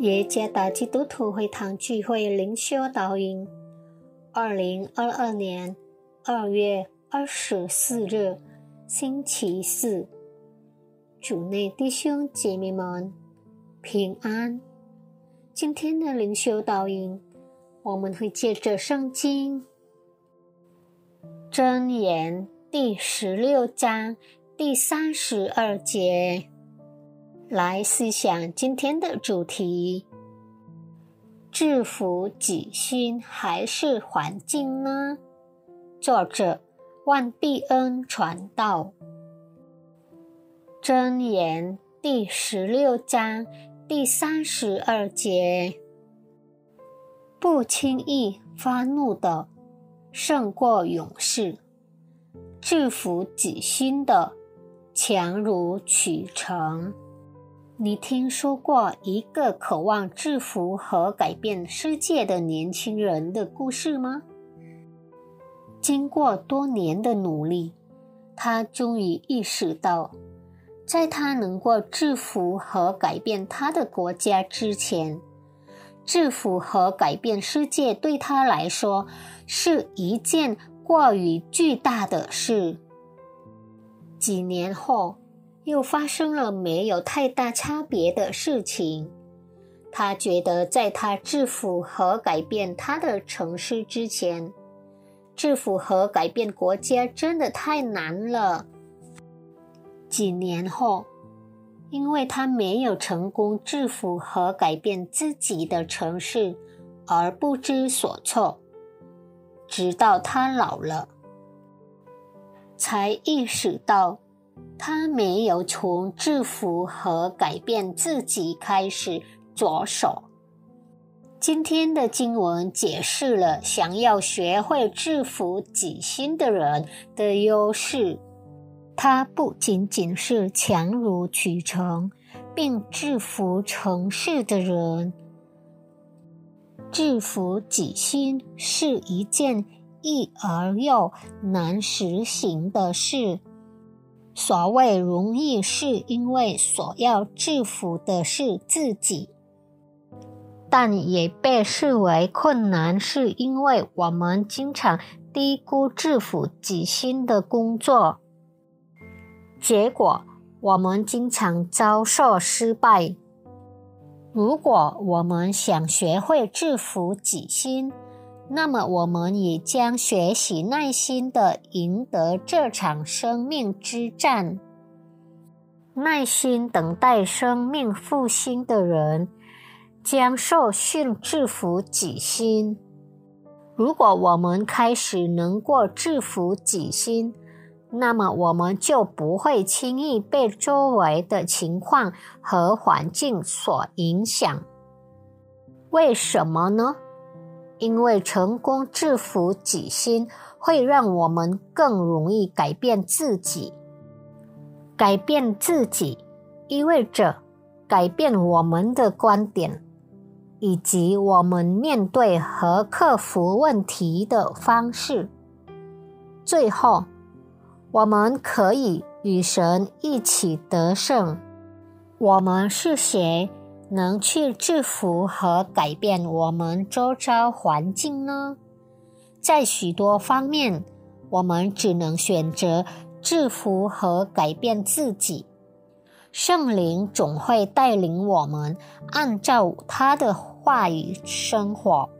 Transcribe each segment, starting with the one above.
耶加达基督徒会堂聚会灵修导引2022年2月24日星期四，主内弟兄姐妹们平安。今天的灵修导引，我们会借着圣经箴言第16章第32节来思想今天的主题：制服己心还是环境呢？作者万必恩传道。箴言第16章第32节，不轻易发怒的胜过勇士，制服己心的强如取城。你听说过一个渴望制服和改变世界的年轻人的故事吗？经过多年的努力，他终于意识到，在他能够制服和改变他的国家之前，制服和改变世界对他来说是一件过于巨大的事。几年后，又发生了没有太大差别的事情。他觉得在他制服和改变他的城市之前，制服和改变国家真的太难了。几年后，因为他没有成功制服和改变自己的城市而不知所措，直到他老了，才意识到他没有从制服和改变自己开始着手。今天的经文解释了想要学会制服己心的人的优势。他不仅仅是强如取城并制服城市的人，制服己心是一件易而又难实行的事。所谓容易，是因为所要制服的是自己，但也被视为困难，是因为我们经常低估制服己心的工作，结果我们经常遭受失败。如果我们想学会制服己心，那么我们也将学习耐心地赢得这场生命之战。耐心等待生命复兴的人将受训制服己心。如果我们开始能够制服己心，那么我们就不会轻易被周围的情况和环境所影响。为什么呢？因为成功制服己心会让我们更容易改变自己。改变自己意味着改变我们的观点，以及我们面对和克服问题的方式。最后，我们可以与神一起得胜。我们是谁能去制服和改变我们周遭环境呢？在许多方面，我们只能选择制服和改变自己。圣灵总会带领我们按照他的话语生活，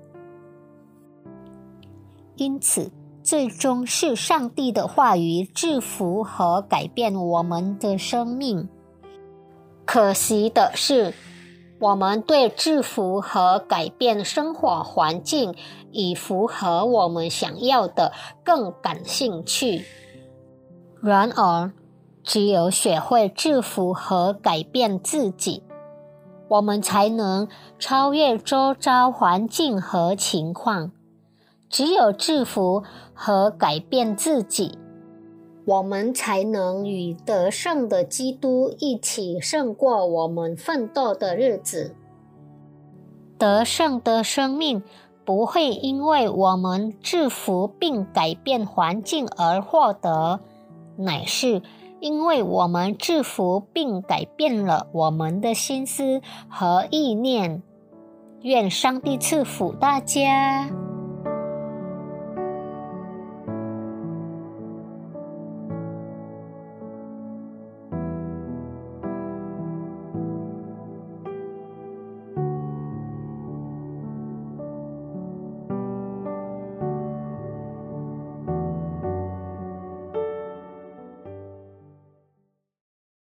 因此最终是上帝的话语制服和改变我们的生命。可惜的是，我们对制服和改变生活环境以符合我们想要的更感兴趣。然而，只有学会制服和改变自己，我们才能超越周遭环境和情况。只有制服和改变自己，我们才能与得胜的基督一起胜过我们奋斗的日子。得胜的生命不会因为我们制服并改变环境而获得，乃是因为我们制服并改变了我们的心思和意念。 愿上帝赐福大家。